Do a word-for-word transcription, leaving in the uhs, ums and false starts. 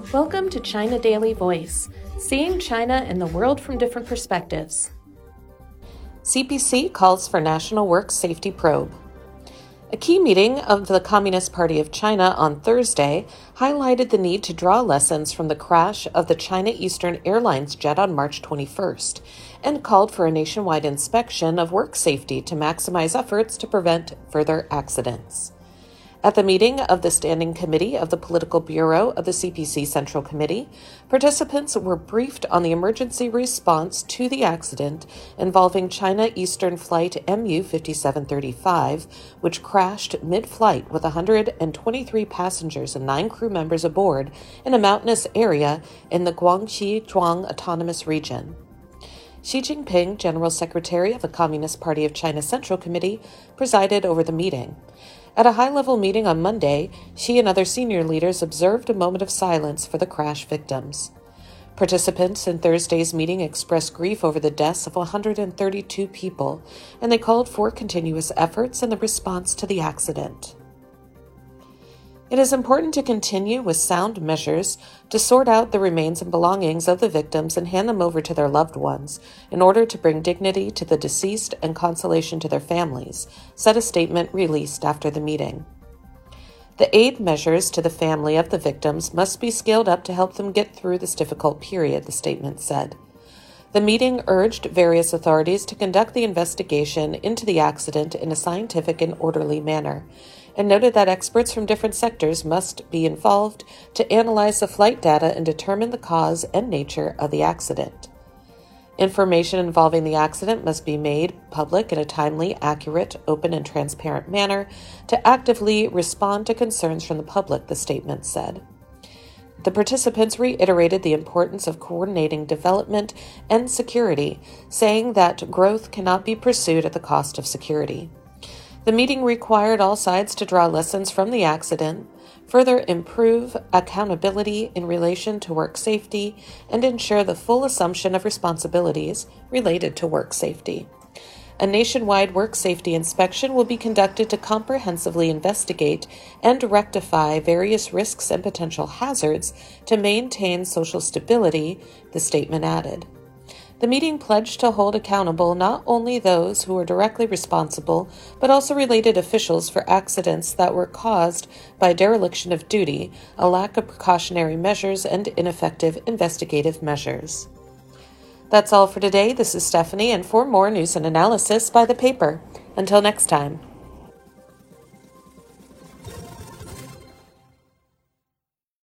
Welcome to China Daily Voice, seeing China and the world from different perspectives. C P C calls for National Work Safety Probe. A key meeting of the Communist Party of China on Thursday highlighted the need to draw lessons from the crash of the China Eastern Airlines jet on March twenty-first and called for a nationwide inspection of work safety to maximize efforts to prevent further accidents. At the meeting of the Standing Committee of the Political Bureau of the C P C Central Committee, participants were briefed on the emergency response to the accident involving China Eastern Flight M U fifty-seven thirty-five, which crashed mid-flight with one hundred twenty-three passengers and nine crew members aboard in a mountainous area in the Guangxi Zhuang Autonomous Region. Xi Jinping, General Secretary of the Communist Party of China Central Committee, presided over the meeting. At a high-level meeting on Monday, Xi and other senior leaders observed a moment of silence for the crash victims. Participants in Thursday's meeting expressed grief over the deaths of one hundred thirty-two people, and they called for continuous efforts in the response to the accident. It is important to continue with sound measures to sort out the remains and belongings of the victims and hand them over to their loved ones in order to bring dignity to the deceased and consolation to their families, said a statement released after the meeting. The aid measures to the family of the victims must be scaled up to help them get through this difficult period, the statement said. The meeting urged various authorities to conduct the investigation into the accident in a scientific and orderly manner, and noted that experts from different sectors must be involved to analyze the flight data and determine the cause and nature of the accident. Information involving the accident must be made public in a timely, accurate, open, and transparent manner to actively respond to concerns from the public, the statement said. The participants reiterated the importance of coordinating development and security, saying that growth cannot be pursued at the cost of security. The meeting required all sides to draw lessons from the accident, further improve accountability in relation to work safety, and ensure the full assumption of responsibilities related to work safety. A nationwide work safety inspection will be conducted to comprehensively investigate and rectify various risks and potential hazards to maintain social stability, the statement added. The meeting pledged to hold accountable not only those who were directly responsible, but also related officials for accidents that were caused by dereliction of duty, a lack of precautionary measures, and ineffective investigative measures. That's all for today. This is Stephanie, and for more news and analysis by the paper. Until next time.